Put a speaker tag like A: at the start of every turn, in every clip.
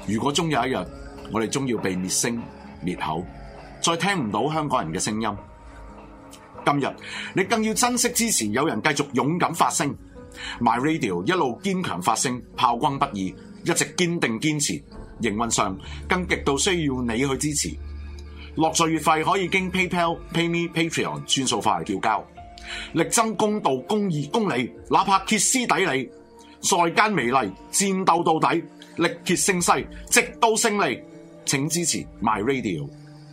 A: 如果終有一日，我哋終要被滅聲滅口，再聽唔到香港人嘅聲音。今日你更要珍惜支持有人繼續勇敢發聲 ，My Radio 一路堅強發聲，炮轟不已，一直堅定堅持。營運上更極度需要你去支持。落稅月費可以經 PayPal、PayMe、Patreon 轉數化嚟繳交。力爭公道、公義、公理，哪怕歇斯底里，在間美麗，戰鬥到底，力竭勝勢，直到勝利。請支持 My Radio。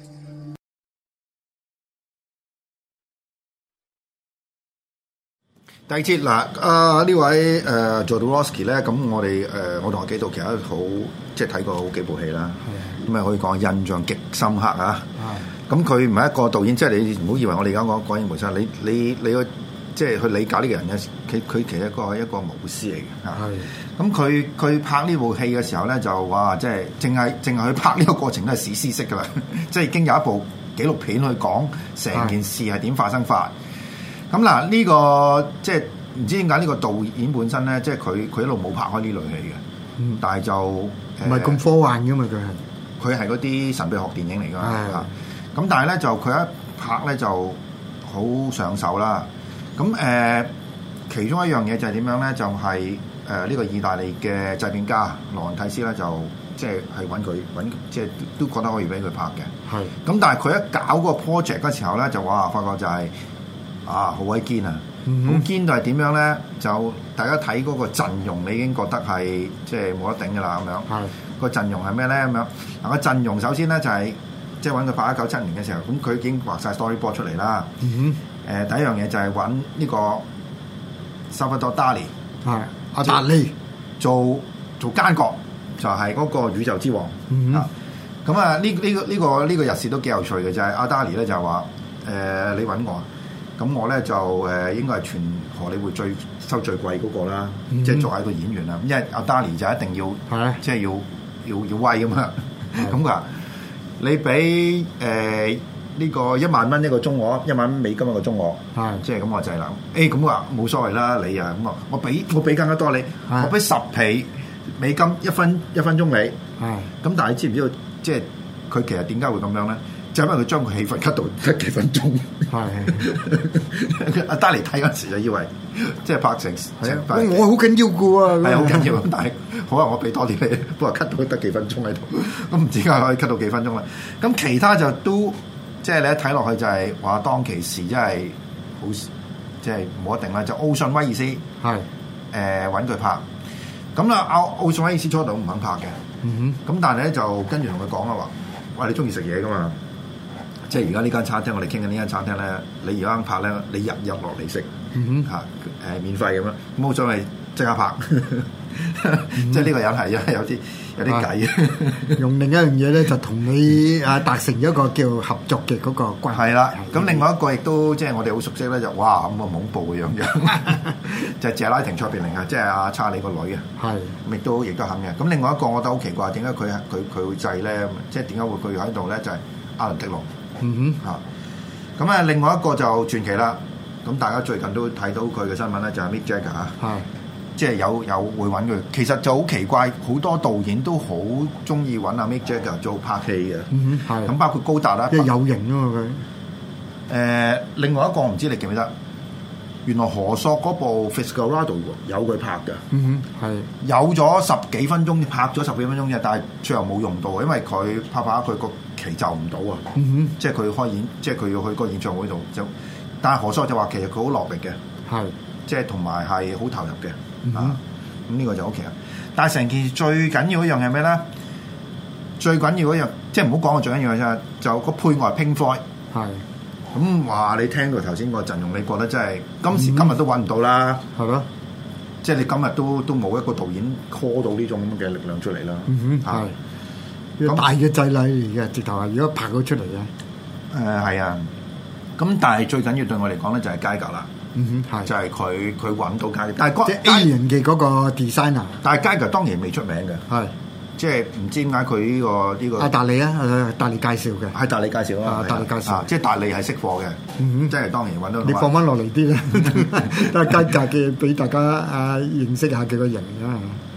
B: 第二節嗱，呢位Jodorowsky 咧，咁我同阿紀陶其實好即係睇過好幾部戲啦，咁啊可以講印象極深刻啊！咁佢唔係一個導演，即係你唔好以為我哋而家講影梅生，你個即係去理解呢個人咧，佢其實一個武師嚟嘅嚇。咁佢拍呢部戲嘅時候咧，就話即係淨係去拍呢個過程都係史詩式㗎啦，即係已經有一部紀錄片去講成件事係點發生法。咁嗱，呢個即係唔知點解呢個導演本身咧，即係佢一路冇拍開呢類戲嘅，但係就唔
C: 係咁科幻㗎嘛，
B: 佢係嗰啲神秘學電影嚟㗎嘛。咁但係咧就佢一拍咧就好上手啦。咁其中一樣嘢就係點樣咧？就係呢個意大利嘅製片家羅倫蒂斯咧，就即係揾即係都覺得可以俾佢拍嘅。咁但係佢一搞嗰個 project 嗰時候咧，就哇發覺就係好鬼堅啊！好堅到係點樣咧？就大家睇嗰個陣容，你已經覺得係即係冇得頂㗎啦咁樣。個陣容係咩咧？咁樣嗱，個陣容首先咧就係即係揾佢拍1997年嘅時候，咁佢已經畫晒 storyboard 出嚟啦。第一樣嘢就係揾呢個 Salvador Dali
C: 阿達利
B: 做奸角，就係嗰個宇宙之王。咁啊呢個日事都幾有趣嘅，就係阿 Dali 咧就話你揾我。咁我咧就應該係全荷里活收最貴嗰個啦，即係作為一個演員啦。因為阿 Dali 就一定要即係要威咁嘛。咁佢話你俾呢個1萬蚊一個鐘我，1萬蚊美金一個鐘我，即係咁我就係啦。咁我話冇所謂啦，你啊咁啊，我俾更加多你，我俾10倍美金一分鐘你。咁但係你知唔知道即係佢其實點解會咁樣咧？就因為佢將個戲份 cut 到得幾分鐘，阿達尼睇嗰時就以為即係拍成
C: 我好緊要嘅喎，
B: 係好緊要，但係好啊，我俾多啲你，不過 cut 到得幾分鐘喺度，咁唔知點解可以 cut 到幾分鐘啦？咁其他就都即係你一睇落去就係話當其時真係好即係冇一定啦，就奧遜威爾斯揾佢拍，咁啦奧遜威爾斯初度唔肯拍嘅，咁但係咧就跟住同佢講啦話，哇你中意食嘢噶嘛？即係而家呢間餐廳，我哋傾緊呢間餐廳咧，你而家拍咧，你日落嚟食免費咁樣，冇所謂即刻拍。即係呢個人係有啲計。
C: 用另一樣嘢咧，就同你達成一個叫合作嘅嗰個關係。
B: 係啦，咁另外一個亦都即係我哋好熟悉咧，就哇咁啊恐怖嘅樣，就係謝拉廷卓別靈啊，即係阿查理個女啊。係，亦都肯嘅。咁另外一個我覺得好奇怪，點解佢會制咧？即係點解會佢喺度咧？就係阿倫迪龍。咁啊，另外一個就傳奇啦。咁大家最近都睇到佢嘅新聞咧，就係 Mick Jagger 即係有會揾佢。其實就好奇怪，好多導演都好中意揾阿 Mick Jagger 做拍戲嘅。咁包括高達啦，
C: 即係有型啊嘛
B: 佢。另外一個唔知你記唔記得？原來何索嗰部 Fitzcarraldo 有佢拍嘅。有咗10幾分鐘，拍咗10幾分鐘嘅，但係最後冇用到，因為佢拍佢個期就唔到啊。即係佢開演，即係佢要去個演唱會度就，但係何索就話其實佢好落力嘅，即係同埋係好投入嘅。咁呢個就 OK 啦。但係成件事最緊要一樣係咩咧？最緊要一樣，即係唔好講個最緊要嘅啫，就個配樂 Pink Floyd。咁話你聽到頭先個陣容，你覺得真係今日都揾唔到啦，係咯？即係你今日都冇一個導演 call 到呢種咁嘅力量出嚟啦。
C: 咁大嘅祭禮嚟嘅，直頭係如果拍到出嚟嘅。
B: 係啊。咁但係最緊要對我嚟講咧，就係街格啦。就係佢揾到街格，但係
C: 即係 Alien 嘅嗰個 designer。但
B: 係街格當然未出名嘅。即係唔知點解佢呢個
C: 達利啊，達利介紹嘅，
B: 係達利介紹啊，
C: 達利介紹，
B: 即係達利係識貨嘅，即係當然揾到。
C: 你放翻落嚟啲啦，但係街格嘅俾大家認識下佢個型啊。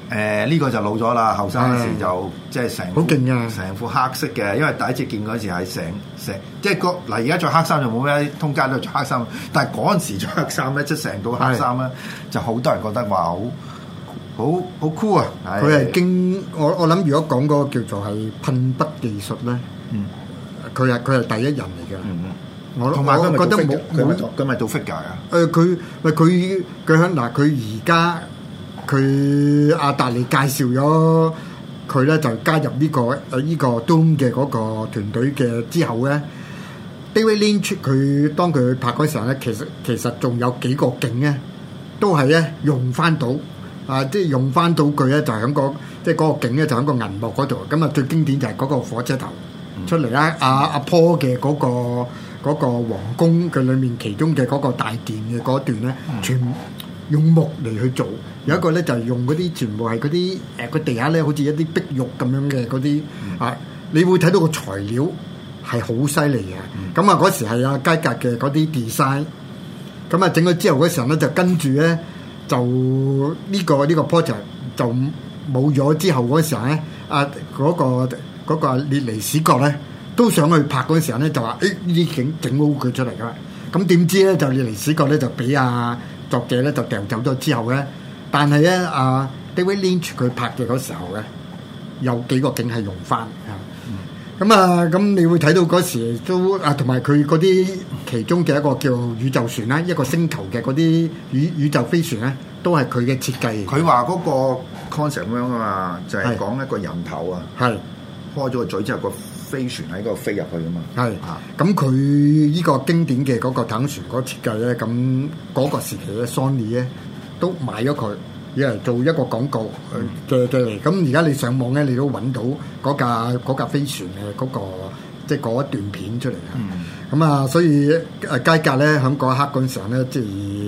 B: 呢個就老咗啦，後生嗰時就即係成
C: 好勁啊，
B: 成副黑色嘅，因為第一次見嗰時係成即係嗱而家着黑衫就冇咩，通街都着黑衫，但係嗰陣時着黑衫咧，即係成套黑衫咧，就好多人覺得話好酷啊！
C: 佢係經我諗，如果講嗰個叫做係噴筆技術咧，佢係第一人嚟嘅。
B: 同埋佢覺得冇佢咪做 figure 啊？
C: 佢響嗱，佢而家佢阿達利介紹咗佢咧，就加入呢個Doom 嘅嗰個團隊嘅之後咧 ，David Lynch 佢當佢拍嗰時候咧，其實仲有幾個景咧，都係咧用翻到啊，即係用翻到佢咧，就係喺即係嗰個景咧，就喺個銀幕嗰度。咁啊，最經典就係嗰個火車頭出嚟啦，阿 Paul 嘅嗰個皇宮嘅裏面其中嘅嗰個大殿嘅嗰段咧，全用木嚟去做。有一個咧就係用嗰啲全部係嗰啲個地下咧，好似一啲壁玉咁樣嘅嗰啲啊，你會睇到個材料係好犀利嘅。咁啊嗰時係阿佳格嘅嗰啲 design， 咁啊整咗之後嗰時候咧就跟住咧就呢個 project 就冇咗之後嗰時候咧，嗰個列尼史葛咧都想去拍嗰陣時候咧，就話呢啲景整好佢出嚟噶啦。咁點知咧就列尼史葛咧就俾作者咧就掉走咗之後咧，但係咧David Lynch 佢拍嘅嗰時候咧，有幾個景係用翻嚇。咁你會睇到嗰時都同埋佢嗰啲其中嘅一個叫宇宙船啦，一個星球嘅嗰啲宇宙飛船咧，都係佢嘅設計。
B: 佢話嗰個 concept 咁樣啊嘛，就係講一個人頭啊，開咗個嘴之後個飛船喺嗰度飛入去啊嘛。係
C: 咁佢呢個經典嘅嗰個太空船嗰個設計咧，咁嗰個時期咧 Sony 咧都買咗佢，嚟做一個廣告嘅嚟。咁而家你上網咧，你都揾到嗰架飛船嘅嗰個即係嗰一段片出嚟嘅。咁所以佳格咧喺嗰一刻嗰陣時候咧，即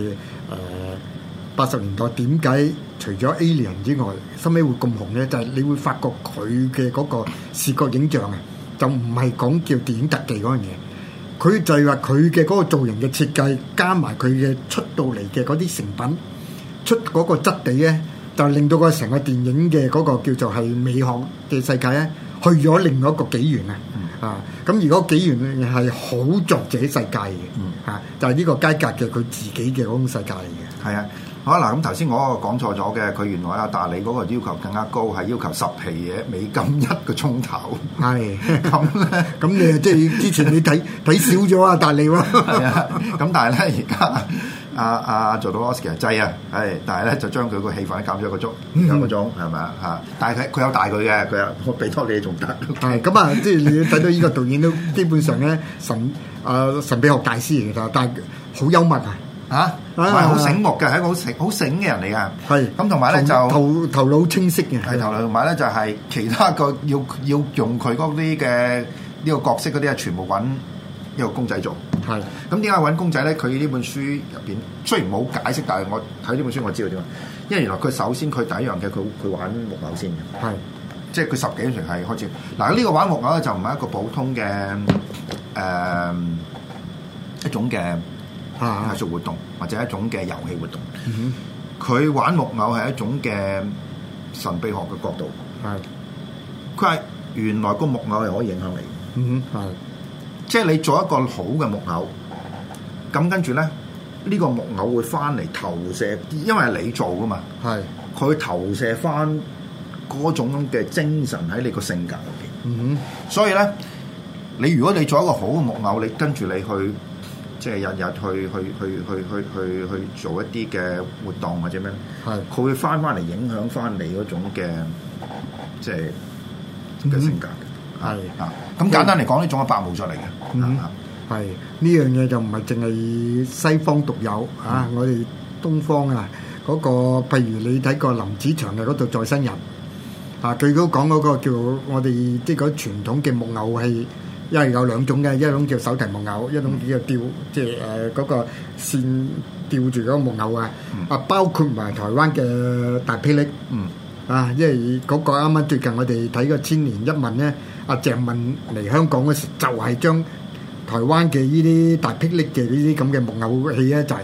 C: 係80年代點解除咗 Alien 之外，收尾會咁紅咧？就係你會發覺佢嘅嗰個視覺影像啊，就唔係講叫電影特技嗰樣嘢，佢就係話佢嘅嗰個造型嘅設計，加埋佢嘅出到嚟嘅嗰啲成品，出嗰個質地咧，就令到個成個電影嘅嗰個叫做係美學嘅世界咧，去咗另外一個紀元咁而嗰個紀元係好作者世界嘅就係呢個佳格嘅佢自己嘅嗰種世界嚟嘅。
B: 係啊。好嗱，咁頭先我講錯咗嘅，佢原來阿達利嗰個要求更加高，係要求10皮嘢美金1個鐘頭。係咁咧，咁你即係之前你睇少咗阿達利喎。係啊，咁但係咧而家阿做到 Oscar 制啊，係，但係咧就將佢個戲份減咗一個鐘，係咪啊？嚇！但係佢有大佢嘅，佢我俾多你仲得。係咁啊，即係你睇到呢個導演都基本上咧神秘學大師嚟㗎，但係好幽默啊！係好醒目嘅，係一個好醒嘅人嚟噶。係咁，同埋咧就頭腦清晰嘅。係頭腦，同埋咧就係其他個要用佢嗰啲嘅呢個角色嗰啲啊，全部揾一個公仔做。係咁點解揾公仔咧？佢呢本書入邊雖然冇解釋，但係我睇呢本書我知道點解。因為原來佢首先佢第一樣嘅佢玩木偶先嘅。係即係佢10幾歲係開始嗱。呢個玩木偶咧就唔係一個普通嘅一種嘅藝術活動或者一種嘅遊戲活動，佢玩木偶係一種嘅神秘學嘅角度。佢係原來個木偶係可以影響你。即係你做一個好嘅木偶，咁跟住咧呢個木偶會翻嚟投射，因為係你做噶嘛。佢投射翻嗰種咁嘅精神喺你個性格入邊。所以咧，如果你做一個好嘅木偶，你跟住你去。即係日日去做一啲嘅活動或者咩？佢會翻嚟影響翻你嗰種嘅即係嘅性格嘅。咁簡單嚟講，呢種係白毛出嚟嘅。
C: 係呢樣嘢就唔係淨係西方獨有我哋東方嗰個，譬如你睇過林子祥嘅嗰度再生人佢都講嗰個叫我哋即係嗰傳統嘅木偶戲。因為有兩種嘅，一種叫手提木偶，一種叫吊，即係嗰個線吊住嗰個木偶包括埋台灣嘅大霹靂，因為嗰個啱啱最近我哋睇個《千年一問》咧，阿鄭問嚟香港嗰時就係將台灣嘅呢啲大霹靂嘅呢啲咁嘅木偶戲咧，就係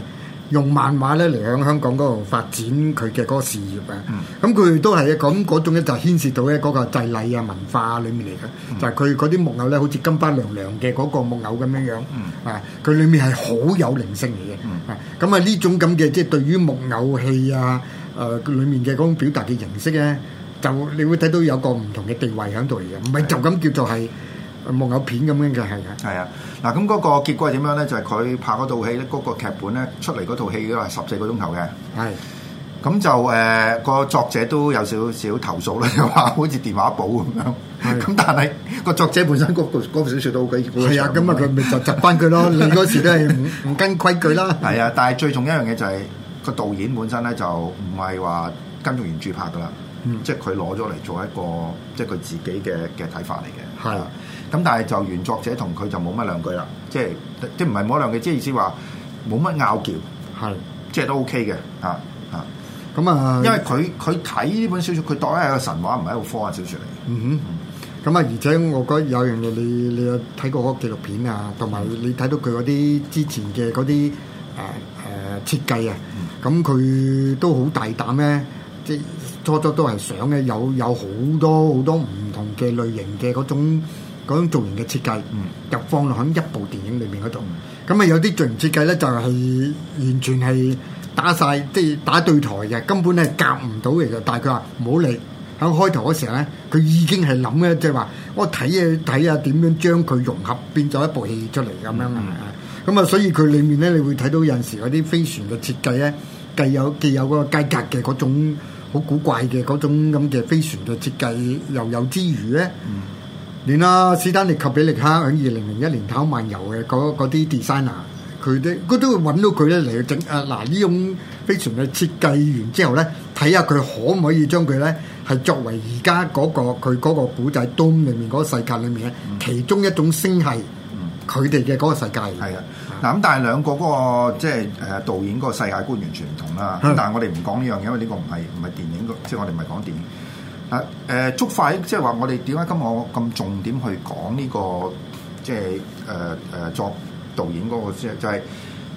C: 用漫畫咧嚟喺香港嗰度發展佢嘅嗰個事業啊。咁佢都係咁嗰種咧，就牽涉到咧嗰個祭禮啊文化裡面嚟嘅，就係佢嗰啲木偶咧，好似金巴娘娘嘅嗰個木偶咁樣樣啊，佢裡面係好有靈性嚟嘅啊。咁啊呢種咁嘅即係對於木偶戲啊裡面嘅嗰種表達嘅形式咧，就你會睇到有個唔同嘅地位喺度嚟嘅，唔係就咁叫做係木偶片咁樣嘅，係啊。
B: 係啊，嗱咁嗰個結果係點樣咧？就係佢拍嗰套戲咧，嗰個劇本咧出嚟嗰套戲都係14個鐘頭嘅。
C: 係。
B: 咁就個作者都有少少投訴啦，又話好似電話簿咁樣。咁但係個作者本身嗰部小説都好幾
C: 係啊，咁啊佢咪就窒翻佢咯。你嗰時都係唔跟規矩啦。
B: 係啊，但係最重要一樣嘢就係個導演本身咧就唔係話跟住原著拍噶啦。即係佢攞咗嚟做一個，即係佢自己嘅睇法嚟嘅。係。咁但係就原作者同佢就冇乜兩句啦，即唔係冇兩句，即係意思話冇乜拗撬。係。即係都 OK 嘅。咁啊，因為佢睇呢本小説，佢當係一個神話，唔係一個科幻小説嚟。
C: 咁啊，而且我覺得有樣嘢，你有睇過嗰個紀錄片啊，同埋你睇到佢嗰啲之前嘅嗰啲設計啊，咁佢都好大膽咧，即係初都係想咧有好多唔同嘅類型嘅嗰種造型嘅設計，就放落喺一部電影裏面嗰度。咁啊有啲造型設計咧就係完全係打晒，即係打對台嘅，根本係夾唔到嚟嘅。但係佢話唔好理，喺開頭嗰時候咧，佢已經係諗咧，即係話我睇下點樣將佢融合變咗一部戲出嚟咁樣啊。咁啊，所以佢裡面咧，你會睇到有陣時嗰啲飛船嘅設計咧，既有嗰個階格嘅嗰種好古怪嘅嗰種咁嘅飛船嘅設計又有之餘咧，連史丹利及比力克喺2001年太空漫遊嘅嗰啲 designer。佢都會揾到佢咧嚟去整呢種飛船嘅設計完之後咧，睇下佢可唔可以將佢咧係作為而家佢嗰個古仔 Dome 裏面嗰個世界裏面咧，其中一種星系，佢哋嘅嗰個世界。係啊，嗱咁但係兩個嗰個即係導演嗰個世界觀完全唔同啦。咁但係我哋唔講呢樣嘢，因為呢個唔係電影，即係我哋唔係講電影。觸發即係話我哋點解今日我咁重點去講呢個即係作導演嗰個就係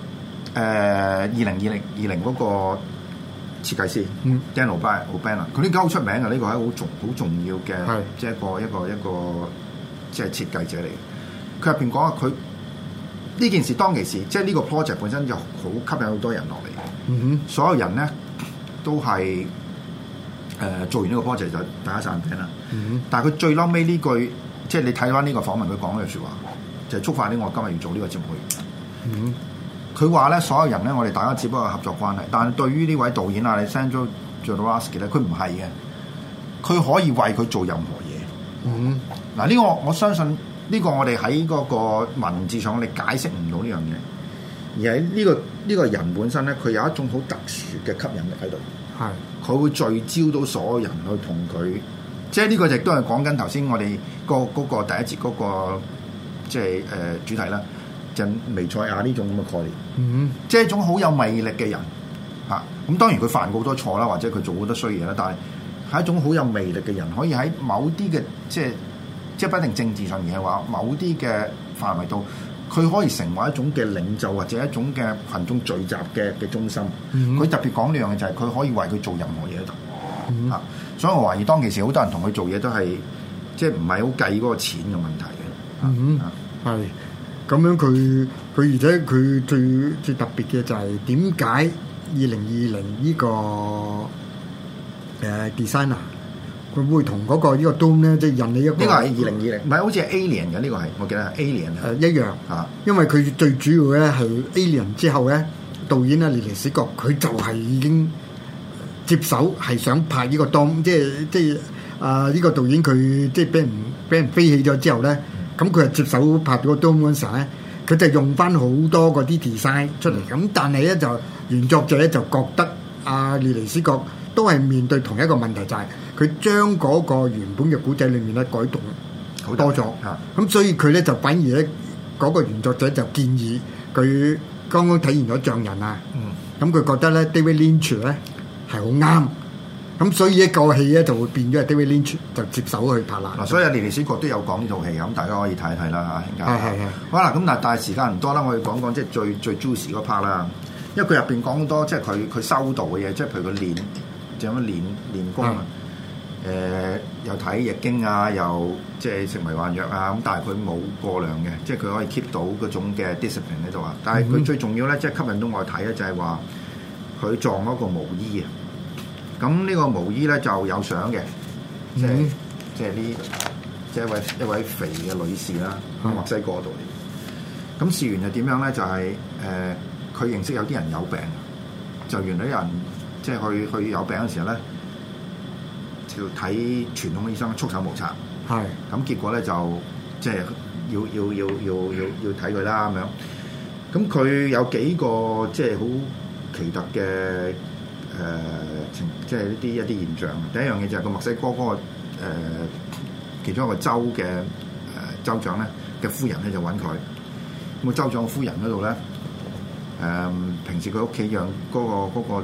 C: 2020嗰個設計師 Dan O'Bannon， 佢呢家好出名嘅，呢個係好重要嘅，即係一個即係設計者嚟嘅。佢入邊講啊，佢呢件事當其時，即係呢個 project 本身就好吸引好多人落嚟。所有人咧都係做完呢個 project 就大家散餅啦。但係佢最嬲尾呢句，即係你睇翻呢個訪問，佢講嘅説話。就係觸發啲我今日要做呢個節目去。佢話咧，所有人咧，我哋大家只不過係合作關係，但係對於呢位導演啊，你 Alexandre Jodorowsky 咧，佢唔係嘅，佢可以為佢做任何嘢。嗱呢個我相信呢個我哋喺嗰個文字上，我哋解釋唔到呢樣嘢，而係呢個人本身咧，佢有一種好特殊嘅吸引力喺度。係，佢會聚焦到所有人去同佢，即係呢個亦都係講緊頭先我哋嗰個第一節嗰個。即係主題啦，就彌賽亞呢種咁嘅概念，即係一種好有魅力嘅人嚇。咁當然佢犯過好多錯啦，或者佢做好多衰嘢啦，但係係一種好有魅力嘅人，可以喺某啲嘅即係不一定政治上，而係話某啲嘅範圍度，佢可以成為一種嘅領袖或者一種嘅群眾聚集嘅中心。佢特別講呢樣嘢就係佢可以為佢做任何嘢度嚇。所以我懷疑當其時好多人同佢做嘢都係即係唔係好計嗰個錢嘅問題。係咁樣佢而且佢最特別嘅就係點解2020呢個designer 佢會同嗰個呢個 Dome 咧，即係引你一個呢個係2020，唔係好似係 Alien 嘅呢個係，我記得係 Alien 一樣嚇，因為佢最主要咧係 Alien 之後咧，導演啊列尼史葛佢就係已經接手係想拍呢個 Dome，即係呢個導演佢即係俾人飛起咗之後咧。咁佢係接手拍咗個 Dome 嗰陣時候咧，佢就用翻好多嗰啲 design 出嚟。咁但係咧就原作者咧就覺得列尼史葛都係面對同一個問題，就係佢將嗰個原本嘅古仔裏面咧改動好多咗。咁所以佢咧就反而咧嗰個原作者就建議佢剛剛睇完咗匠人啊。咁佢覺得咧 David Lynch 咧係好啱。咁所以一個戲咧就會變咗係 David Lynch 就接手去拍啦。嗱，所以列尼史葛都有講呢套戲，咁大家可以睇一睇啦嚇。係。好啦，咁但係時間唔多啦，我哋講即係最 juicy 嗰 part 啦。
B: 因為佢入邊講好多即係佢修道嘅嘢，即係譬如佢練，就咁樣練功啊。又睇易經啊，又即係食迷幻藥啊，咁但係佢冇過量嘅，即係佢可以 keep 到嗰種嘅 discipline 喺度啊。但係佢最重要咧，即係吸引到我睇咧，就係話佢撞嗰個毛衣啊。咁呢個毛衣咧就有相嘅，即係即係一位肥嘅女士啦，喺墨西哥度嚟。咁事緣係點樣咧？就係佢認識有啲人有病，就原來有人即係去有病嘅時候咧。要睇傳統嘅醫生束手無策，係咁結果咧就即係要睇佢啦咁樣。咁佢有幾個即係好奇特嘅即係一啲現象。第一樣嘢就係個墨西哥嗰個其中一個州嘅州長咧嘅夫人咧就揾佢。咁個州長嘅夫人嗰度咧平時佢屋企養嗰個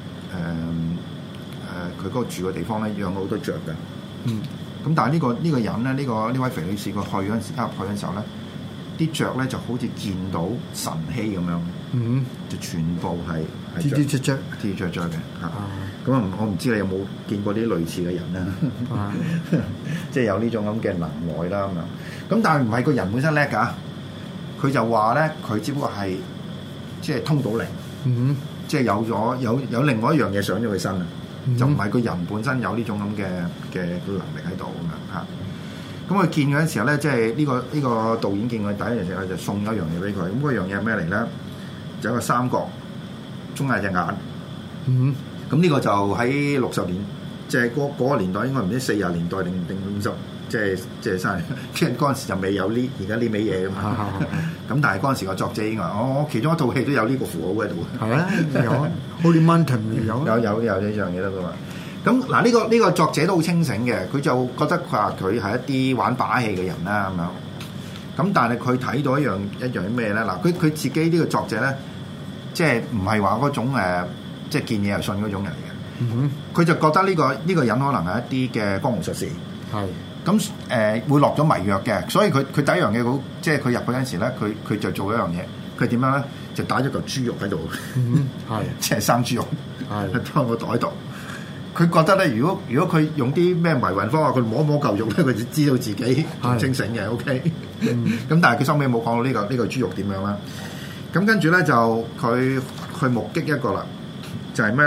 B: 佢嗰個住嘅地方咧養咗好多雀嘅，咁但係呢個人咧，呢位肥女士佢去嗰陣時候咧，啲雀咧就好似見到神氣咁樣，就全部係吱吱雀嘅嚇。咁我唔知你有冇見過啲類似嘅人咧，即係有呢種咁嘅能耐啦咁樣。咁但係唔係個人本身叻㗎，佢就話咧佢只不過係即係通到靈，即係有另外一樣嘢上咗佢身啊。就唔係個人本身有呢種咁嘅能力喺度咁樣嚇。咁佢見嗰陣時候咧，即係呢個導演見佢第一樣嘢就送咗一樣嘢俾佢。咁嗰樣嘢係咩嚟咧？就一個三角中間隻眼。咁呢個就喺60年，即係嗰個年代應該唔知40年代定50，即係生，即係嗰陣時就未有呢而家呢味嘢㗎嘛。咁但係嗰陣時個作者應該我其中一套戲都有呢個符號喺度。係啊，有 Holy Mountain 有呢樣嘢得㗎嘛。咁嗱呢個作者都好清醒嘅，佢就覺得佢係一啲玩把戲嘅人啦咁樣。咁但係佢睇到一樣咩咧？嗱，佢自己呢個作者咧，即係唔係話嗰種即係見嘢就信嗰種人嚟嘅。佢就覺得呢個人可能係一啲嘅江湖術士。係。咁會落咗迷藥嘅，所以佢第一樣嘢好，即係佢入去嗰陣時咧，佢就做一樣嘢，佢點樣咧？就打咗嚿豬肉喺度，即係生豬肉，裝個袋度。佢覺得咧，如果佢用啲咩迷魂方法，佢摸嚿肉咧，佢就知道自己仲清醒嘅。OK，咁但係佢收尾冇講到呢個豬肉點樣啦。咁跟住咧就佢去目擊一個啦，就係咩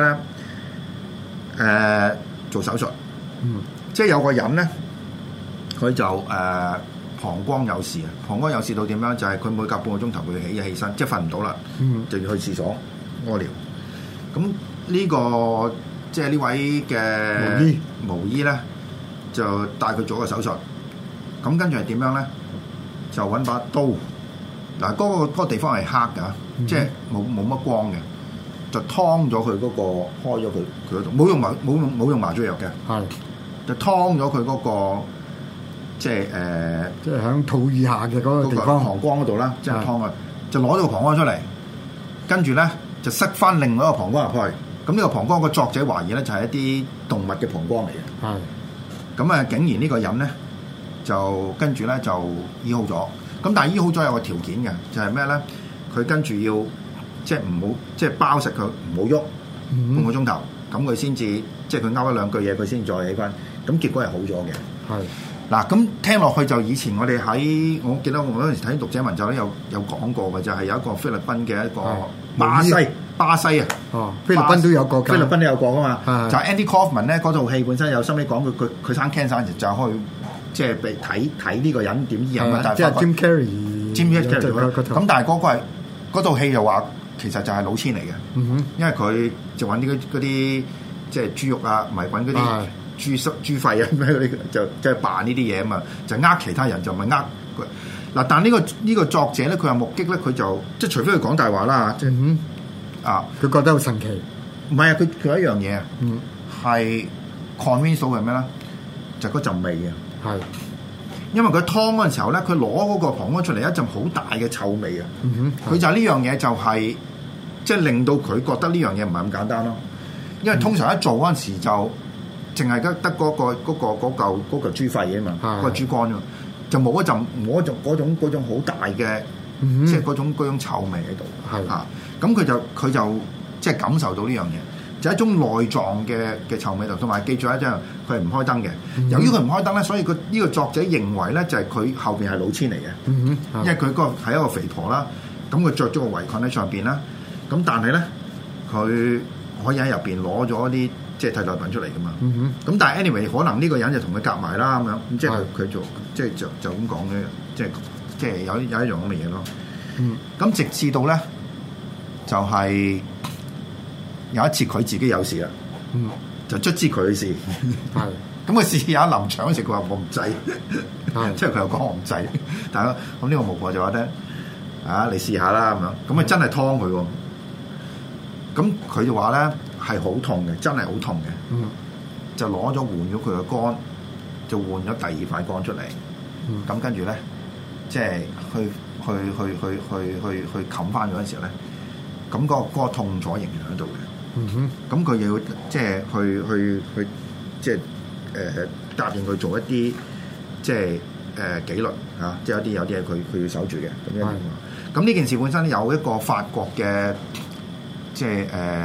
B: 咧？做手術，即係有個人咧。佢就膀胱有事啊！膀胱有事到點樣？就係佢每隔半個鐘頭會起身，即係瞓唔到啦，就要去廁所屙尿。咁呢個即係呢位嘅巫醫咧，就帶佢做個手術。咁跟住係點樣咧？就揾把刀。嗱，嗰個地方係黑㗎，即係冇乜光嘅，就劏咗佢嗰個，開咗佢嗰度，冇用麻醉藥嘅，係就劏咗佢嗰個。即係即係喺肚以下嘅嗰個地方膀胱嗰度啦，即係劏啊，就攞咗個膀胱出嚟，跟住咧就塞翻另外一個膀胱入去。咁呢個膀胱個作者懷疑咧就係一啲動物嘅膀胱嚟嘅。係。咁竟然呢個人咧就跟住咧就醫好咗。咁但係醫好咗有個條件嘅，就係咩咧？佢跟住要即係唔好即係包實佢，唔好喐半個鐘頭，咁佢先至即係佢勾一兩句嘢，佢先再起翻。咁結果係好咗嘅。係。嗱，咁聽落去就以前我哋我記得我嗰陣時睇讀者文就咧有講過嘅，就係有一個菲律賓嘅一個巴西啊，菲律賓都有個噶嘛，就係 Andy Kaufman 咧嗰套戲本身有心理講佢生 cancer 就去即係被睇呢個人點醫啊，即係 Jim Carrey 咁，但係嗰套戲就話其實就係老千嚟嘅，因為佢就揾啲嗰啲即係豬肉啊，唔係揾嗰啲。豬肺啊咩嗰啲就即係扮呢啲嘢啊嘛，就其他人就唔係佢嗱。但呢個作者咧，佢話目擊咧，佢就即係除非佢講大話啦，即係佢覺得好神奇。唔係啊，佢有一樣嘢啊，係 convince 到係咩咧？就嗰陣味啊，係因為佢劏嗰陣時候咧，佢攞嗰個膀胱出嚟一陣好大嘅臭味啊。佢就係呢樣嘢就係即係令到佢覺得呢樣嘢唔係咁簡單咯。因為通常一做嗰陣時就淨係得嗰嚿豬肺啊嘛，嗰個豬肝啊嘛，就冇嗰種好大嘅即係嗰種臭味喺度。
C: 係
B: 啊，咁佢就即係感受到呢樣嘢。就係一種內臟嘅臭味道，同埋記住一樣，佢係唔開燈嘅。由於佢唔開燈咧，所以佢呢個作者認為咧，就係佢後邊係老千嚟嘅。因為佢嗰個係一個肥婆啦，咁佢着咗個圍裙喺上邊啦，咁但係咧佢可以喺入邊攞咗啲即係替代品出嚟噶嘛。咁但係 anyway，可能呢個人就同佢夾埋啦咁樣，咁即係佢做即係就咁講嘅，即係有一樣咁嘅嘢咯。咁直至到咧就係。有一次佢自己有事啦，就卒之佢嘅事，咁佢試下臨場嗰時，佢話我唔制，即係佢又講我唔制，但係咁呢個巫婆就話咧，啊你試下啦咁樣，咁啊真係劏佢喎，咁佢就話咧係好痛嘅，真係好痛嘅，就攞咗換咗佢嘅肝，就換咗第二塊肝出嚟，咁跟住咧即係去冚翻嗰陣時候咧，咁嗰個痛楚仍然喺度嘅。咁佢要即係去即係答應佢做一啲即係紀律嚇，即係有啲嘢佢要守住嘅咁樣。咁呢件事本身有一個法國嘅即係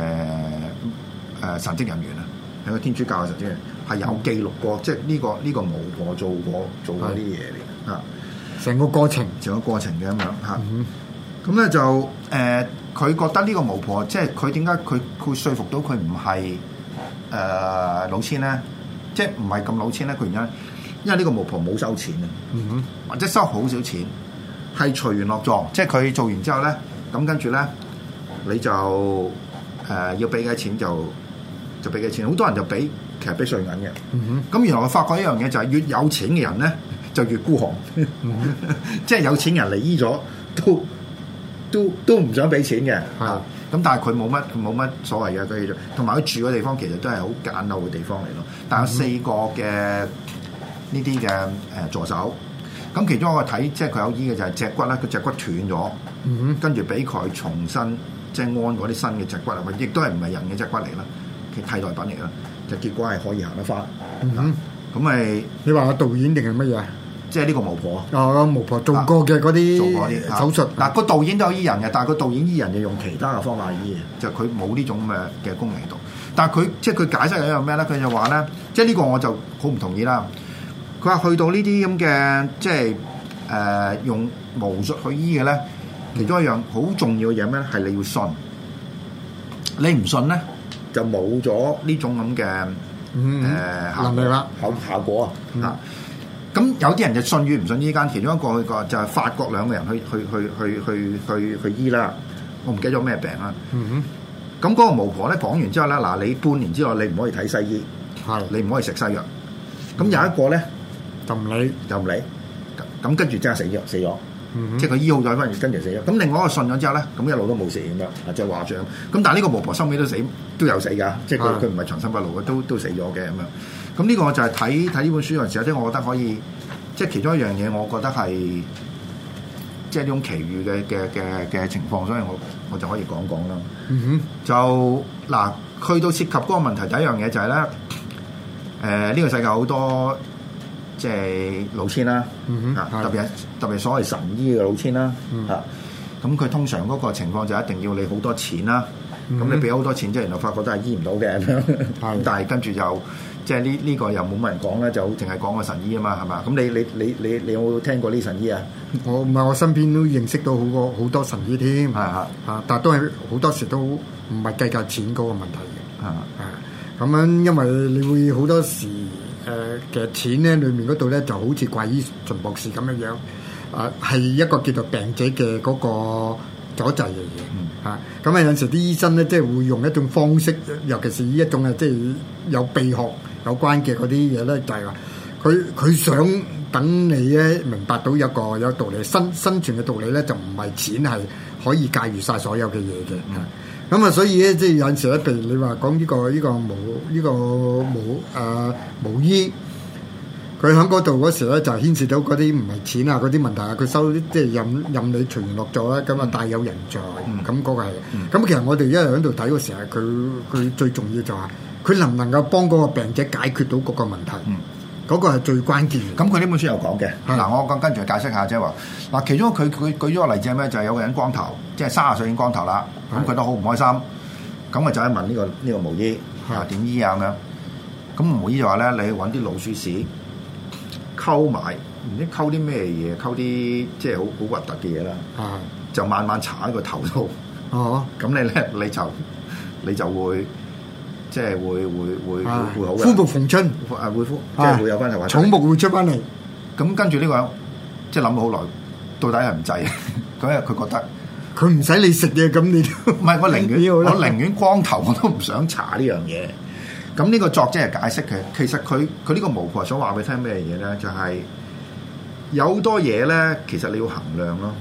B: 神職人員啊，係個天主教嘅神職人員，係有記錄過，即係呢個巫婆做過啲嘢嚟嚇，
C: 成個過程
B: 嘅咁樣嚇。咁咧就佢覺得呢個巫婆，即係佢點解佢說服到佢唔係老千咧？即係唔係咁老千咧？佢原因為呢個巫婆冇收錢啊，或者收好少錢，係隨緣落座。即係佢做完之後咧，咁跟住咧你就要俾嘅錢就俾嘅錢。好多人就其實俾碎銀嘅。咁原來我發覺一樣嘢就係越有錢嘅人咧就越孤寒，即係有錢人嚟醫咗都唔想俾錢嘅，咁但係佢冇乜所謂嘅，佢同埋佢住嘅地方其實都係好簡陋嘅地方嚟咯。但係有4個嘅呢啲嘅助手，咁其中一個睇即係佢有醫嘅就係脊骨啦，佢脊骨斷咗，跟住俾佢重新即係安嗰啲新嘅脊骨啊，亦都係唔係人嘅脊骨嚟啦，其替代品嚟啦，就結果係可以行得翻。咁咪
C: 你話個導演定係乜嘢？
B: 即係呢個巫婆，
C: 巫婆做過嘅嗰啲手術。嗱，
B: 個導演都有醫人嘅，但係個導演醫人就用其他嘅方法醫嘅，就佢冇呢種嘅功能喺度。但係佢即係佢解釋係一樣咩咧？佢就話咧，即係呢個我就好唔同意啦。佢話去到呢啲咁嘅即係用巫術去醫嘅咧，其中一樣好重要嘅嘢咩咧？係你要信，你唔信咧就冇咗呢種咁嘅
C: 能力啦，
B: 效果啊。咁有啲人就信與唔信呢間，其中一個就係法國2個人去醫啦。我唔記得咗咩病啦。咁嗰個巫婆咧講完之後咧，嗱你半年之內你唔可以睇西醫，你唔可以食西藥。咁有一個咧就唔理，咁跟住真係死咗。即係佢醫好咗，跟住死咗。咁另外一個信咗之後咧，咁一路都冇事咁樣，即係話像。咁但係呢個巫婆收尾都有死㗎，即係佢唔係長生不老嘅，都死咗嘅咁樣。咁呢個就係睇呢本書嗰陣時，即係我覺得可以，即係其中一樣嘢，我覺得係即係呢種奇遇嘅情況，所以我就可以講講啦。就嗱，去到涉及嗰個問題，第一樣嘢就係咧，呢個世界好多即係老千啦，特別所謂神醫嘅老千啦，咁佢通常嗰個情況就一定要你好多錢啦，咁你俾好多錢，即係原來發覺都係醫唔到嘅咁樣，但係跟住就。即係呢個又冇乜人講咧，就淨係講個神醫啊嘛，係嘛？咁你有冇聽過呢神醫啊？
C: 我唔係，我身邊都認識到好多神醫添，但係都係好多時都唔係計較錢嗰個問題嘅，咁樣因為你會好多時其實錢咧裏面嗰度咧就好似怪醫秦博士咁樣，係一個叫做病者嘅嗰個阻滯嘅嘢，咁有陣時啲醫生咧即係會用一種方式，尤其是呢一種即係有秘學有關嘅嗰啲嘢咧，就係話佢想等你咧明白到有道理，生存嘅道理咧，就唔係錢係可以駕馭晒所有嘅嘢嘅。咁所以咧即係有陣時咧，譬如你話講呢個巫醫。佢喺嗰度嗰時咧，就牽涉到嗰啲唔係錢啊嗰啲問題啊，佢收即係任你隨緣落座啦，咁啊大有人在，咁嗰個係。咁其實我哋一路喺度睇嗰時候，佢最重要就係佢能唔能夠幫嗰個病者解決到嗰個問題。 嗰個係最關鍵。
B: 咁佢呢本書有講嘅。
C: 係
B: 嗱，我跟住解釋下，即係話嗱，其中佢舉咗個例子係咩？就係有個人光頭，即係30歲已經光頭啦，咁佢都好唔開心，咁啊就係問呢個巫醫啊點醫啊咁樣。咁巫醫就話咧，你揾啲老鼠屎溝埋，唔知溝啲咩嘢，溝啲即係好核突嘅嘢啦，就慢慢搽喺個頭度。
C: 哦，
B: 咁你就會即係會好嘅。
C: 膚復逢春，
B: 會即係會有翻頭髮。
C: 草木會出翻嚟。
B: 咁跟住呢個人即係諗咗好耐，到底係唔制？咁因為佢覺得
C: 佢唔使你食嘢，咁你
B: 唔係，我寧願光頭我都唔想搽呢樣嘢。咁呢個作者係解釋嘅，其實佢呢個巫婆想話俾你聽咩嘢咧？就係有好多嘢咧，其實你要衡量咯。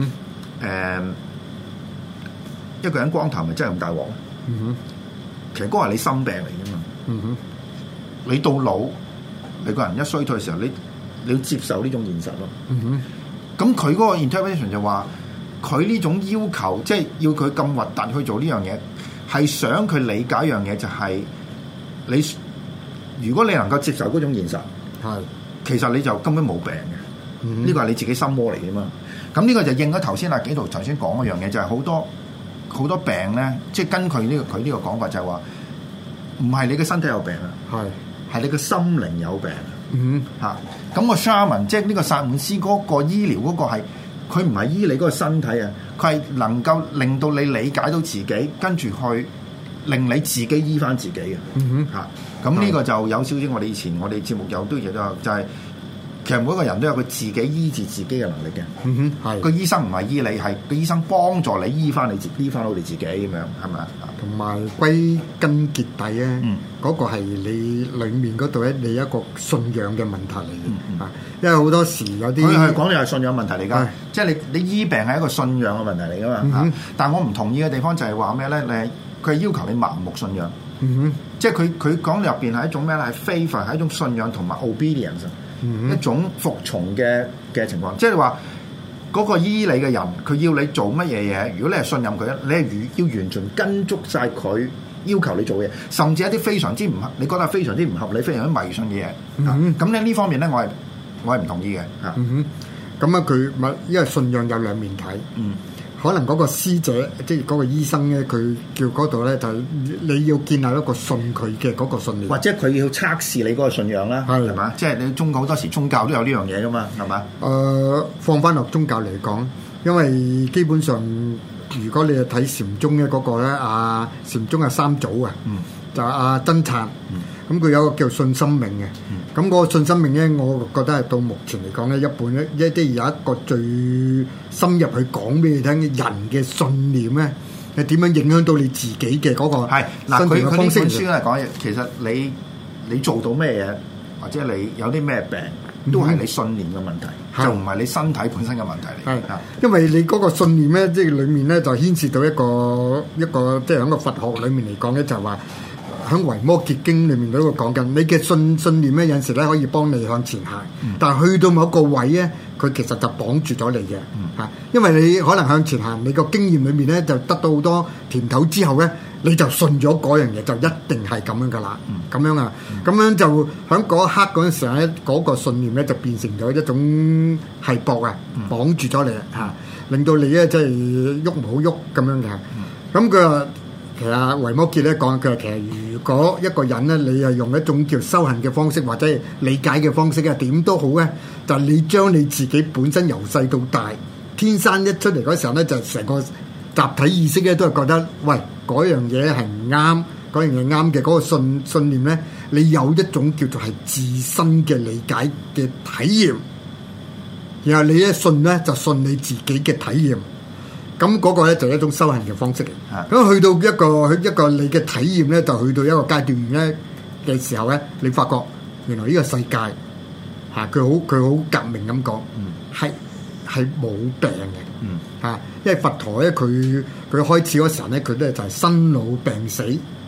B: 一個人光頭咪真係咁大鑊？其實嗰個係你心病嚟嘅嘛。你到老，你個人一衰退嘅時候，你要接受呢種現實咯。咁佢嗰個 interpretation 就話，佢呢種要求，即係要佢咁核突去做呢樣嘢，係想佢理解一樣嘢，就係你如果你能夠接受嗰種現實，其實你就根本冇病嘅。呢個係你自己心魔嚟嘅嘛。咁呢個就應咗頭先阿紀陶頭先講嗰樣嘢，就係好多病咧，即係跟佢呢個講法就係話，唔係你嘅身體有病啊，係你嘅心靈有病。咁個 shaman 即係呢個薩滿師嗰個醫療嗰個係，佢唔係醫你嗰個身體啊，佢係能夠令到你理解到自己，跟住去令你自己醫翻自己嘅。咁呢個就有少少我哋以前我哋節目有都嘢都有，就係其實每一個人都有佢自己醫治自己嘅能力嘅。個醫生唔係醫你，係個醫生幫助你醫翻到你自己咁樣，係咪啊？
C: 同埋歸根結底咧，嗰個係你裡面嗰度咧，你一個信仰嘅問題嚟嘅。因為好多時有啲
B: 佢係講你係信仰問題嚟㗎，即係你醫病係一個信仰嘅問題嚟㗎嘛。但係我唔同意嘅地方就係話咩咧？佢係要求你盲目信仰。即係佢講入邊係一種咩咧？係 faith 係一種信仰同埋 obedience。一種服從嘅情況，即係話嗰個醫你嘅人，佢要你做乜嘢嘢？如果你係信任佢，你係要完全跟足晒佢要求你做嘅嘢，甚至一啲非常之唔合，你覺得非常之唔合理、非常之迷信嘅嘢。咁咧呢方面咧，我係唔同意嘅。
C: 咁啊，佢咪因為信仰有兩面睇。可能嗰個師者，即係嗰個醫生咧，佢叫嗰度咧，就你要建立一個信佢嘅嗰個信念，
B: 或者佢要測試你嗰個信仰啦，係嘛？即係你好多時宗教都有呢樣嘢噶嘛，係嘛？
C: 放翻落宗教嚟講，因為基本上如果你係睇禪宗嘅嗰個咧，禪宗係三祖啊，就阿僧璨，咁佢有個叫信心命嘅。咁嗰個信心命咧，我覺得係到目前嚟講咧，一半咧有一個最深入去講俾你聽，人嘅信念咧係點樣影響到你自己嘅嗰個
B: 係嗱，佢呢本書咧講嘢，其實你做到咩嘢，或者你有啲咩病，都係你信念嘅問題，就唔係你身體本身嘅問題嚟。
C: 因為你嗰個信念咧，即係裡面咧就牽涉到一個即係喺個佛學裡面嚟講咧，就係話。喺《維摩詰經》裏面嗰度講緊，你嘅信念咧有陣時咧可以幫你向前行，但係去到某一個位咧，佢其實就綁住咗你嘅嚇，因為你可能向前行，你個經驗裏面咧就得到好多甜頭之後咧，你就信咗嗰樣嘢，就一定係咁樣噶啦，咁樣啊，咁樣就喺嗰一刻嗰陣時咧，嗰個信念咧就變成咗一種係搏啊，綁住咗你嚇，令到你咧即係喐唔好喐咁樣嘅，咁佢話。其實維摩詰咧講，佢話其實如果一個人咧，你係用一種叫修行嘅方式或者係理解嘅方式啊，點都好咧，就你將你自己本身由細到大，天生一出嚟嗰時候咧，就成個集體意識咧都係覺得，喂嗰樣嘢係唔啱，嗰樣嘢啱嘅嗰個信念咧，你有一種叫做係自身嘅理解嘅體驗，然後你一信咧就信你自己嘅體驗。咁嗰個咧就係一種修行嘅方式嚟。咁去到一個你嘅體驗咧，就去到一個階段咧嘅時候咧，你發覺原來呢個世界嚇佢好革命咁講，係冇病嘅嚇。因為佛陀咧佢開始嗰時候咧，佢咧就係生老病死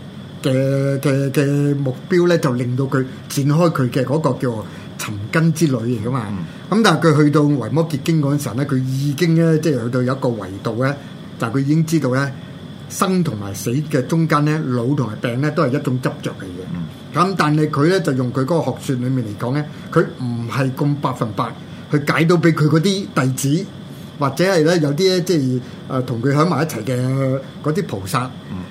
C: 嘅目標咧，就令到佢展開佢嘅嗰個叫尋根之旅嚟噶嘛。咁但係佢去到維摩詰經嗰陣時候咧，佢已經咧即係去到有一個維度咧，但係佢已經知道咧， 生同埋死嘅中間咧，老同埋病咧都係一種執着嘅嘢。咁但係佢咧就用佢嗰個學説裡面嚟講咧，佢唔係咁100%去解到俾佢嗰啲弟子，或者係咧有啲咧即係同佢喺埋一齊嘅嗰啲菩薩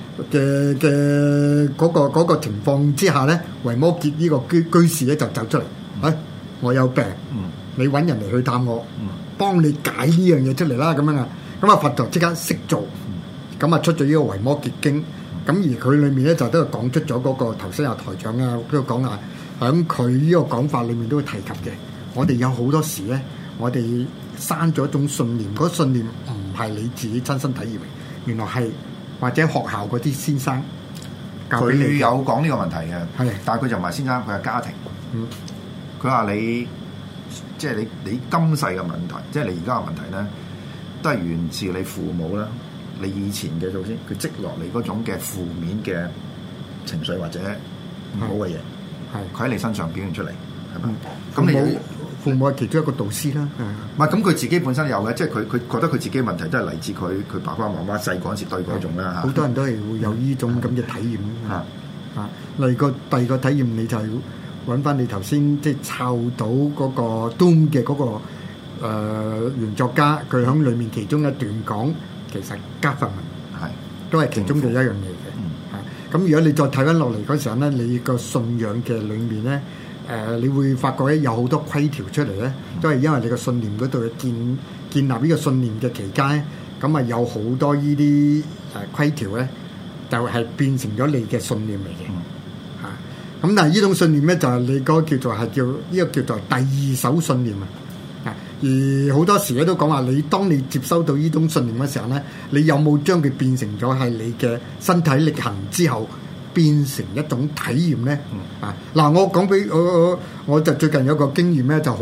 C: 嘅嗰個情況之下咧，維摩詰呢個居士咧就走出嚟，我有病，你揾人嚟去探我，幫你解呢樣嘢出嚟啦咁樣啊，咁啊佛陀即刻識做，咁啊出咗呢個維摩詰經，咁而佢裏面咧就都係講出咗嗰個頭先阿台長啊都講啊，喺佢呢個講法裏面都會提及嘅。我哋有好多時咧，我哋生咗一種信念，嗰信念唔係你自己親身體驗，原來係或者學校嗰啲先生教俾你。
B: 佢有講呢個問題嘅，
C: 係，
B: 但係佢就唔係先生，佢係家庭。佢話你即係你今世嘅問題，即係你而家嘅問題咧，都係源自你父母啦，你以前嘅祖先佢積落嚟嗰種嘅負面嘅情緒或者唔好嘅嘢，係佢喺你身上表現出嚟，係咪？咁你
C: 父母係其中一個導師啦，
B: 唔係咁佢自己本身有嘅，即係佢覺得佢自己嘅問題都係嚟自佢爸爸媽媽細嗰陣時對嗰種啦嚇。
C: 好多人都係會有呢種咁嘅體驗嚇。例如第二個體驗，你就係揾翻你頭先即係抄到嗰個 Doom 嘅嗰個原作家，佢喺裏面其中一段講，其實加法文係都係其中嘅一樣嘢嘅。咁如果你再睇翻落嚟嗰時候咧，你個信仰嘅裏面咧。你會發覺咧有好多規條出嚟咧，都係因為你個信念嗰度建立呢個信念嘅期間咧，咁啊有好多呢啲規條咧，就係變成咗你嘅信念嚟嘅嚇。咁但係呢種信念咧，就係你嗰個叫做係叫呢個叫做第二手信念啊。而好多時咧都講話，你當你接收到呢種信念嘅時候咧，你有冇將佢變成咗係你嘅身體力行之後？變成一種體驗咧，嗱，我講俾我就最近有個經驗咧，就好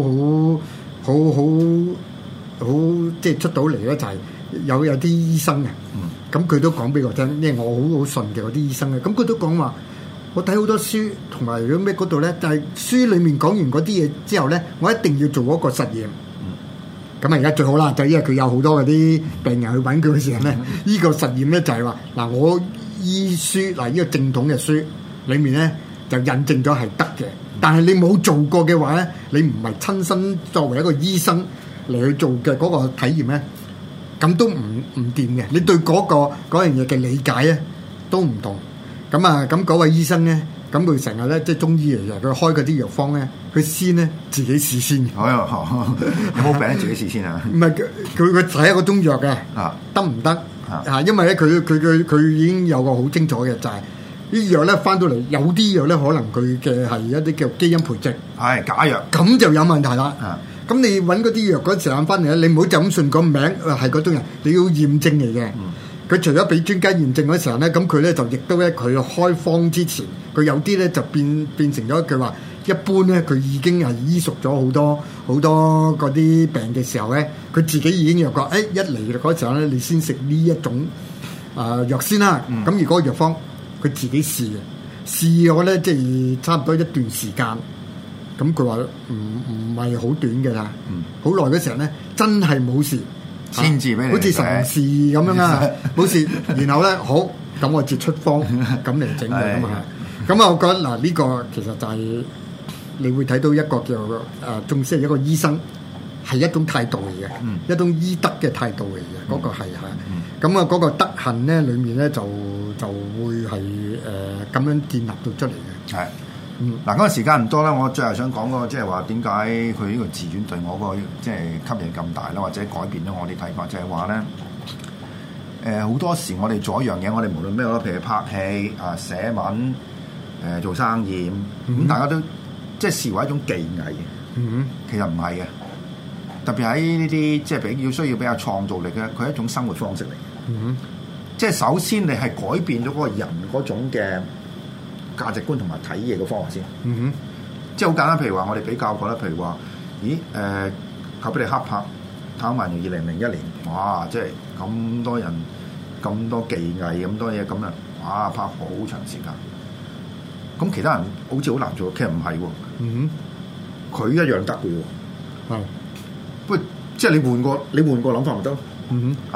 C: 即係出到嚟咧，就係有啲醫生啊，咁佢都講俾我聽，因為我好信嘅嗰啲醫生啊，咁佢都講話，我睇好多書同埋嗰咩嗰度咧，就係書裡面講完嗰啲嘢之後咧，我一定要做一個實驗。咁啊而家最好啦，就因為佢有好多嗰啲病人去揾佢嘅時候咧，呢個實驗咧就係話嗱我。醫書嗱，呢個正統嘅書裏面咧就印證咗係得嘅，但係你冇做過嘅話咧，你唔係親身作為一個醫生嚟去做嘅嗰個體驗咧，咁都唔掂嘅。你對嗰樣嘢嘅理解咧都唔同。咁啊，咁嗰位醫生咧，咁佢成日咧即係中醫嚟嘅，佢開嗰啲藥方咧，佢先咧自己試先。
B: 有冇病自己試先啊？
C: 唔係佢睇一個中藥嘅，得唔得？因為咧佢已經有個好清楚嘅，就係啲藥咧翻到嚟，有啲藥咧可能佢嘅係一啲叫基因培植，
B: 係假藥，
C: 咁就有問題啦。咁你揾嗰啲藥嗰時間翻嚟咧，你唔好就咁信個名係嗰種人，你要驗證嚟嘅。佢除咗俾專家驗證嗰時候咧，咁佢咧就亦都咧佢開方之前，佢有啲咧就變成咗佢話。一般咧，佢已經係醫熟咗好多嗰啲病嘅時候咧，佢自己已經有個一嚟嗰時候咧，你先食呢一種藥先啦。咁如果藥方佢自己試咗咧，即係差唔多一段時間。咁佢話唔係好短嘅啦，好耐嗰時候咧，真係冇事，
B: 先至俾你
C: 好似神事咁樣啊，冇事。然後咧好，咁我就出方咁嚟整嘅嘛。咁啊，我覺得嗱呢個其實就係。你會睇到一個叫仲係一個醫生係一種態度嚟嘅，一種醫德嘅態度嚟嘅，嗰個係嚇。咁啊，嗰個德行咧，裡面咧就會係咁樣建立到出嚟嘅。
B: 係，嗱嗰個時間唔多啦，我最後想講個即係話點解佢呢個自傳對我個即係吸引咁大啦，或者改變咗我啲睇法，就係話咧好多時我哋做一樣嘢，我哋無論咩咯，譬如拍戲寫文做生意咁，大家都。即係視為一種技藝嘅，其實唔係嘅。特別喺呢啲即係需要比較創造力嘅，佢係一種生活方式嚟嘅。即係首先你係改變咗嗰個人嗰種嘅價值觀同埋睇嘢嘅方法先。即係好簡單，譬如話我哋比較過啦，譬如話，靠俾你黑拍睇埋2001年，哇！即係咁多人咁多技藝咁多嘢咁啊，哇！拍好長時間。咁其他人好似好難做，其實唔係喎。佢一樣得嘅喎。不過即係你換個諗法咪得咯。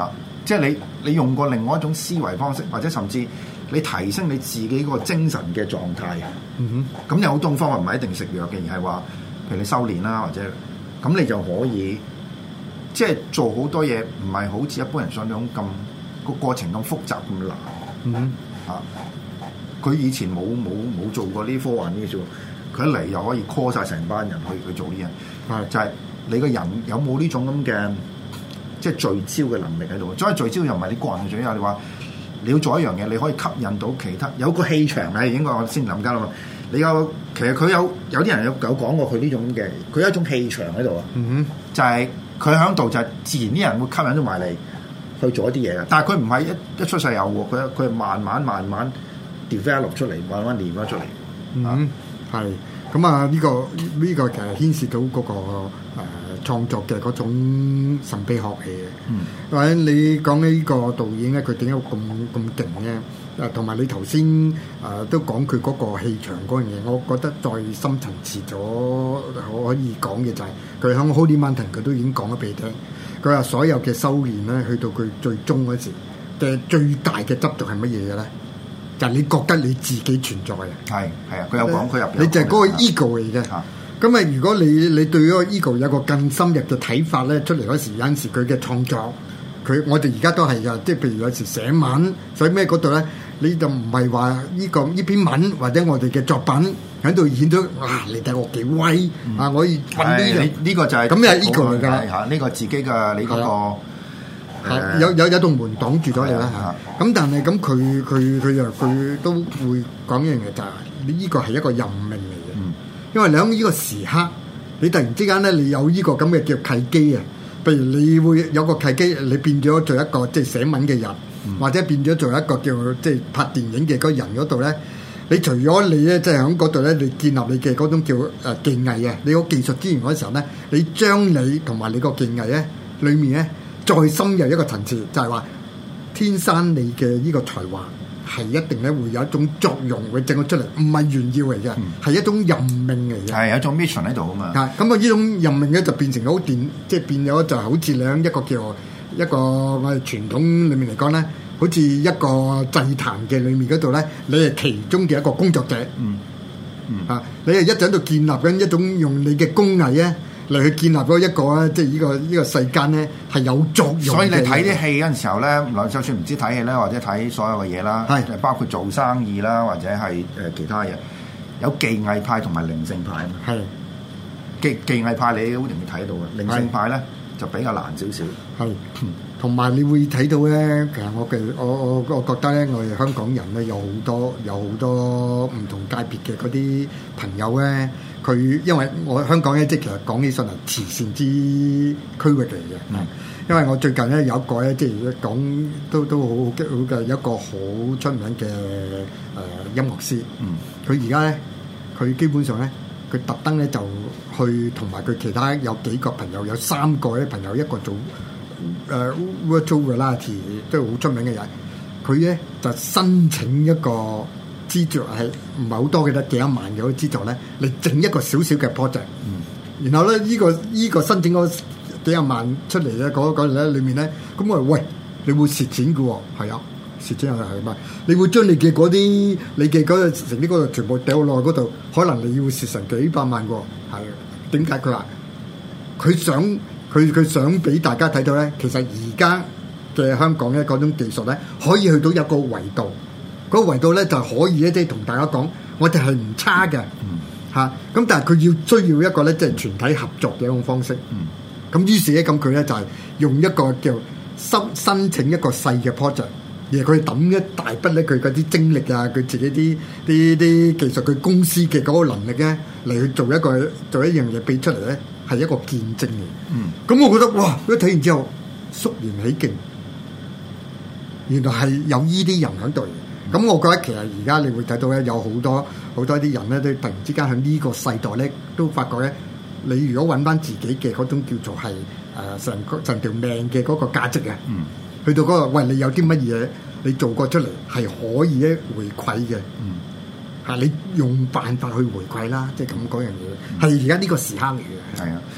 B: 即係你用過另外一種思維方式，或者甚至你提升你自己個精神嘅狀態。咁有好多方法，唔係一定食藥嘅，而係話譬如你修練啦，或者咁你就可以即係做好多嘢，唔係好似一般人想像咁個過程咁複雜咁難。佢以前冇做過呢啲科幻呢啲嘢，佢一嚟又可以 call 晒成班人去做呢樣，就係你個人有冇呢種咁嘅即係聚焦嘅能力喺度。所以聚焦又唔係你個人嘅聚焦，你話你要做一樣嘢，你可以吸引到其他有個氣場嘅，應該我先諗緊啦嘛。你其實佢有啲人有講過佢呢種嘅，佢有一種氣場喺度啊。就係佢喺度就係自然啲人會吸引到埋嚟去做一啲嘢嘅。但係佢唔係一出世有喎，佢係慢慢 develop 出嚟，慢慢練翻出嚟。
C: 係咁啊！呢個其實牽涉到嗰個創作嘅嗰種神秘學嚟嘅。或者你講起呢個導演咧，佢點解咁勁咧？同埋你頭先都講佢嗰個氣場嗰樣嘢，我覺得再深層次咗可以講嘅就係佢喺 Holy Mountain 佢都已經講咗俾你聽。佢話所有嘅修練咧，去到佢最終嗰時嘅最大嘅執着係乜嘢嘅咧？就係你覺得你自己存在嘅。係啊，佢有講，佢入邊你就係嗰個 ego 嚟嘅。咁啊，如果你對嗰個 ego 有個更深入嘅睇法咧，出嚟嗰時有陣時佢嘅創作，我哋而家都係㗎，即係譬如有時寫文寫咩嗰度咧，你就唔係話呢篇文或者我哋嘅作品喺度顯到你睇我幾威啊！我可以揾呢個就係咁係 ego 嚟㗎嚇，呢個自己嘅你嗰個。有棟門擋住咗你啦嚇，咁但係咁佢都會講一樣嘢，就係呢個係一個任命嚟嘅。因為你喺呢個時刻，你突然之間咧，你有呢個咁嘅叫契機啊。譬如你會有個契機，你變咗做一個即係寫文嘅人，或者變咗做一個叫即係拍電影嘅嗰人嗰度咧。你除咗你咧，即係喺嗰度咧，你建立你嘅嗰種叫技藝啊，你個技術資源嗰時候咧，你將你同埋你個技藝咧裡面咧。再深入一個層次，就係話天生你嘅呢個才華係一定咧會有一種作用，會整咗出嚟，唔係炫耀嚟嘅，係一種任命嚟嘅。係有一種 mission 喺度啊嘛。咁啊，呢種任命咧就變成好電，即係變咗就好似你喺一個叫一個我哋傳統裡面嚟講咧，好似一個祭壇嘅裡面嗰度咧，你係其中嘅一個工作者。你係一直喺度建立緊一種用你嘅工藝咧。嚟去建立嗰一個咧，即係呢個世間咧係有作用。所以你睇啲戲嗰陣時候咧，就算唔知睇戲咧，或者睇所有嘅嘢啦，包括做生意啦，或者係其他嘢，有技藝派同埋靈性派。係技藝派你好容易睇到嘅，靈性派咧就比較難少少。係同埋你會睇到咧，其實我覺得咧，我哋香港人咧有好多唔同界別嘅嗰啲朋友咧。佢因為我香港咧，即係其實講起上嚟慈善之區域嚟嘅。因為我最近咧有一個咧，即係講都好嘅一個好出名嘅音樂師。佢而家咧，佢基本上咧，佢特登咧就去同埋佢其他有幾個朋友，有3個咧朋友，一個做virtual reality 都係好出名嘅人。佢咧就申請一個。資助係唔係好多嘅得幾1萬嘅嗰資助咧？你整一個少少嘅 project，然後咧呢個申請嗰幾1萬出嚟咧，嗰咧裏面咧，咁我話喂，你會蝕錢嘅喎，係啊，蝕錢係咪？你會將你嘅嗰啲你嘅嗰個成啲嗰度全部掉落嗰度，可能你要蝕成幾百萬嘅喎，係點解？佢話佢想俾大家睇到咧，其實而家嘅香港咧嗰種技術咧，可以去到一個維度。嗰個維度咧就可以咧，即係同大家講，我哋係唔差嘅嚇。咁但係佢需要一個咧，即係全體合作嘅一種方式。咁於是咧，咁佢咧就係用一個叫申請一個細嘅 project，而佢抌一大筆咧，佢嗰啲精力啊，佢自己啲技術，佢公司嘅嗰個能力咧，嚟去做一樣嘢俾出嚟咧，係一個見證嘅。咁我覺得哇！一睇完之後，肅然起敬，原來係有依啲人喺度。咁我覺得其實而家你會睇到咧，有好多啲人咧，都突然之間喺呢個世代咧，都發覺咧，你如果揾翻自己嘅嗰種叫做係成條命嘅嗰個價值啊，去到嗰個喂，你有啲乜嘢你做過出嚟係可以咧回饋嘅，你用辦法去回饋啦，即係咁嗰樣嘢，係而家呢個時刻嚟嘅。係啊，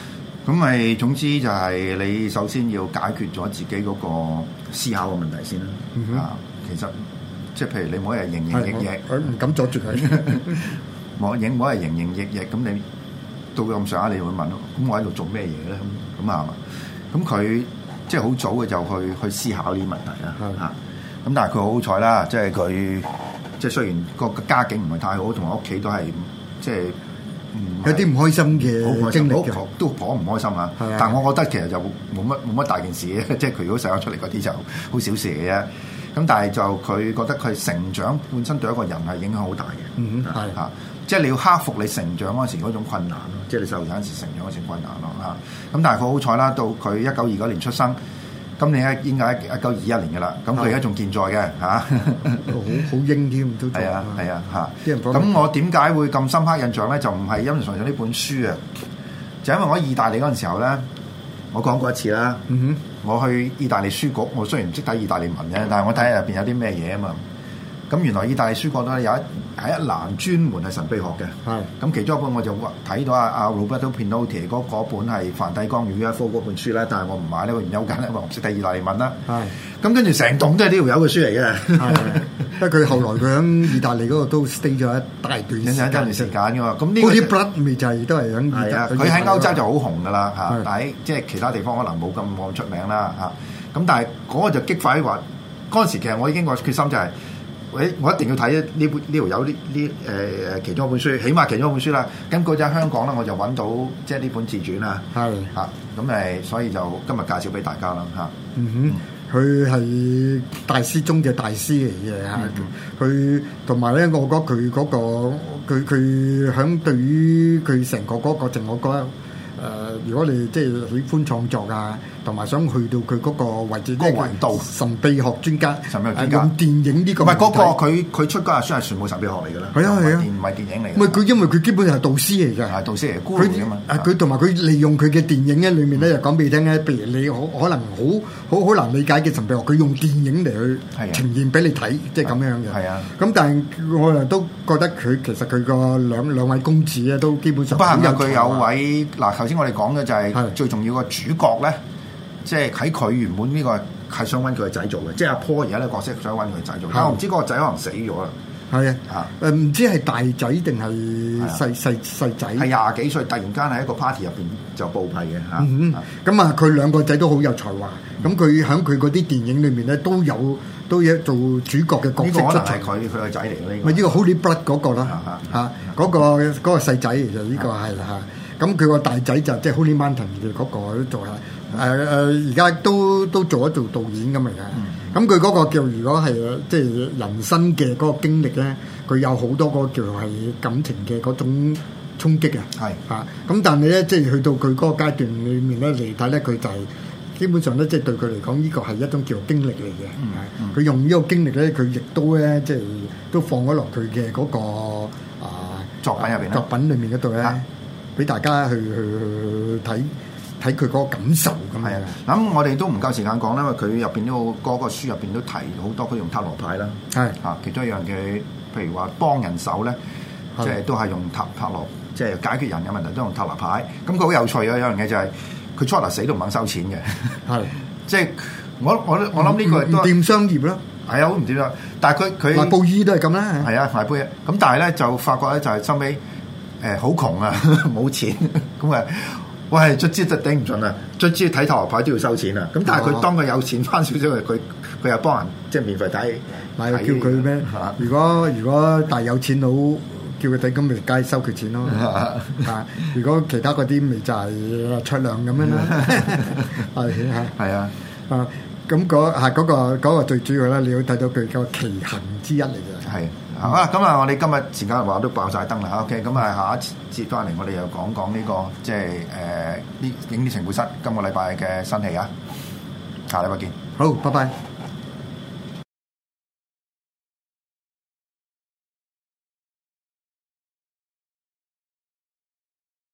B: 咁咪總之就係你首先要解決咗自己嗰個思考嘅問題先啦。其實即係譬如你每日營營役役，
C: 佢唔敢阻住佢。
B: 每日營營役役，咁你到咁上下，你會問咯。咁我喺度做咩嘢咧？咁啊嘛。咁佢即係好早嘅就去思考呢啲問題啦。咁但係佢好彩啦，即係佢即係雖然個家境唔係太好，同埋屋企都係即係。
C: 有啲唔開心嘅經歷
B: 都頗唔開心啊！但係我覺得其實就冇乜大件事嘅，即係佢如果細咗出嚟嗰啲就好小事嘅啫。咁但係就佢覺得佢成長本身對一個人係影響好大嘅。即係你要克服你成長嗰時嗰種困難咯，即係你細路仔嗰時成長嗰時困難咯嚇。咁但係佢好彩啦，到佢1929年出生。今年應該1921年嘅啦，咁佢而家仲健在嘅嚇，
C: 好英添都
B: 係啊嚇。咁我點解會咁深刻印象咧？就唔係因為純粹呢本書啊，就因為我喺意大利嗰陣時候咧，我講過一次啦。我去意大利書局，我雖然唔識睇意大利文啫，但係我睇下入邊有啲咩嘢啊嘛。咁原來意大利書局咧有一欄專門係神秘學嘅。咁其中一本我就睇到阿 Roberto Pinotti 嗰本係梵蒂岡與 UFO 嗰本書咧，但係我唔買呢個原因好簡單，因為我唔識睇意大利文啦。咁跟住成棟都係呢條友嘅書嚟嘅。
C: 因為佢後來佢喺意大利嗰度都 stay 咗一大段時間
B: 㗎嘛。咁呢個
C: 啲 blood 咪就係都係喺意大利。
B: 佢喺歐洲就好紅㗎啦嚇，但係即係其他地方可能冇咁出名啦嚇。咁但係嗰個就激發話嗰陣時，其實我已經個決心就係。我一定要睇呢條友呢其中一本書，起碼其中一本書啦。咁嗰陣香港咧，我就揾到即係呢本自傳啦。咁所以就今日介紹俾大家啦嚇。
C: 佢係大師中嘅大師嚟嘅嚇。佢同埋咧，我覺得佢嗰個佢響對於佢成個嗰個淨，我覺得。如果你即係喜歡創作啊，同埋想去到佢嗰個位置，嗰個維度，神秘學專家，用電影呢個
B: 唔係嗰個佢出嗰日書係全部神秘學嚟㗎啦，唔係電影嚟。
C: 唔係佢，因為佢基本上係導師嚟㗎，
B: 係導師嚟，孤兒㗎嘛。
C: 佢同埋佢利用佢嘅電影咧，裏面咧就講俾你聽咧，譬如你可能好難理解嘅神秘學，佢用電影嚟去呈現俾你睇，即係咁樣嘅。係啊。咁但係我又都覺得佢其實佢個兩位公子咧，都基本上
B: 不幸佢有位嗱。頭先我哋講嘅就係最重要個主角咧，即係喺佢原本呢個係想揾佢個仔做嘅，即係阿 Paul 而家呢個角色想揾佢仔做，但係我唔知嗰個仔可能死咗啦。
C: 係啊，唔知係大仔定係細仔？
B: 係廿幾歲，突然間喺一個 party 入邊就報批嘅嚇。
C: 咁啊，佢兩個仔都好有才華，咁佢喺佢嗰啲電影裏面咧都有做主角嘅角色出場。
B: 佢個仔嚟嘅呢個。
C: 咪呢個 Holy Blood 嗰個啦嚇，嗰個細仔其實呢個係嚇。咁佢個大仔就即係 Holy Mountain 嘅嗰個都做下，而家都做一做導演咁嚟嘅。咁佢嗰個叫如果係即係人生嘅嗰個經歷咧，佢有好多個叫係感情嘅嗰種衝擊啊。係嚇，咁但係咧即係去到佢嗰個階段裏面咧嚟睇咧，佢就係基本上咧即係對佢嚟講呢個係一種叫經歷嚟嘅。佢用呢個經歷咧，佢亦都咧即係都放咗落佢嘅嗰個
B: 作品入邊
C: 作品裏面嗰度咧。俾大家去睇佢嗰個感受咁樣。
B: 咁我哋都唔夠時間講啦，因為佢入邊都嗰個書入邊都提好多佢用塔羅牌啦。係嚇，其中一樣嘅，譬如話幫人手咧，即係都係用塔羅，即係解決人嘅問題都用塔羅牌。咁佢好有趣啊！有樣嘢就係佢初頭死都唔肯收錢嘅。係，即係我諗呢個
C: 唔掂商業咯。
B: 係啊，好唔掂啊！但係佢
C: 賣布衣都係咁啦。
B: 係啊，賣布衣。咁但係咧就發覺咧就係收尾。好窮啊，冇錢咁啊！喂，卒之就頂唔順啦，卒之睇塔羅牌都要收錢啊！咁但係佢當佢有錢翻少少，佢又幫人即係免費睇，
C: 咪叫佢咩？如果大有錢佬叫佢睇，咁咪梗係收佢錢咯。如果其他嗰啲咪就係出糧咁樣啦。係啊。咁嗰個最主要咧，你要睇到佢個奇行之一嚟嘅。係。好啦，咁啊，我哋今日時間話都爆晒燈啦。OK，咁啊，下一節翻嚟，我哋又講呢個即係呢影啲情報室今個禮拜嘅新戲啊。下禮拜見。好，拜拜。